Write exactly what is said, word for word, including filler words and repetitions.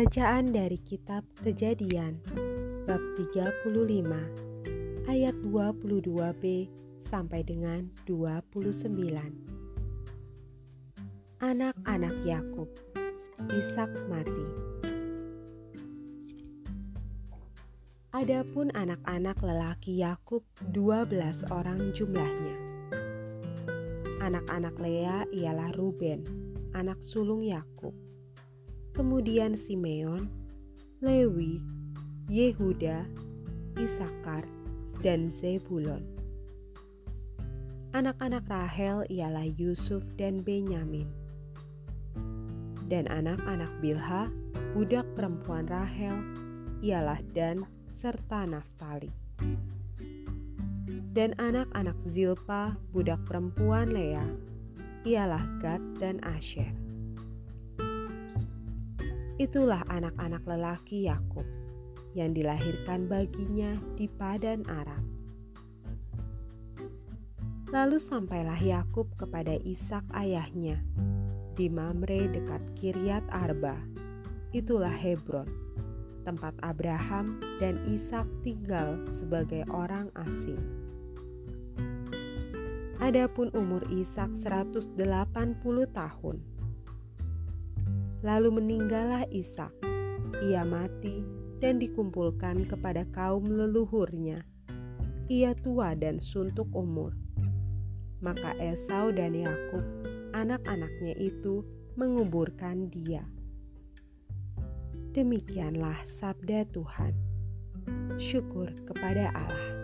Bacaan dari kitab Kejadian bab tiga puluh lima ayat dua puluh dua b sampai dengan dua puluh sembilan. Anak-anak Yakub, Ishak mati. Adapun anak-anak lelaki Yakub dua belas orang jumlahnya. Anak-anak Lea ialah Ruben, anak sulung Yakub. Kemudian Simeon, Lewi, Yehuda, Isakar, dan Zebulon. Anak-anak Rahel ialah Yusuf dan Benyamin. Dan anak-anak Bilha, budak perempuan Rahel, ialah Dan serta Naftali. Dan anak-anak Zilpa, budak perempuan Lea, ialah Gad dan Asher. Itulah anak-anak lelaki Yakub yang dilahirkan baginya di Padan Aram. Lalu sampailah Yakub kepada Ishak ayahnya di Mamre dekat Kiryat Arba. Itulah Hebron, tempat Abraham dan Ishak tinggal sebagai orang asing. Adapun umur Ishak seratus delapan puluh tahun. Lalu meninggallah Ishak, ia mati dan dikumpulkan kepada kaum leluhurnya. Ia tua dan suntuk umur. Maka Esau dan Yakub, anak-anaknya itu, menguburkan dia. Demikianlah sabda Tuhan. Syukur kepada Allah.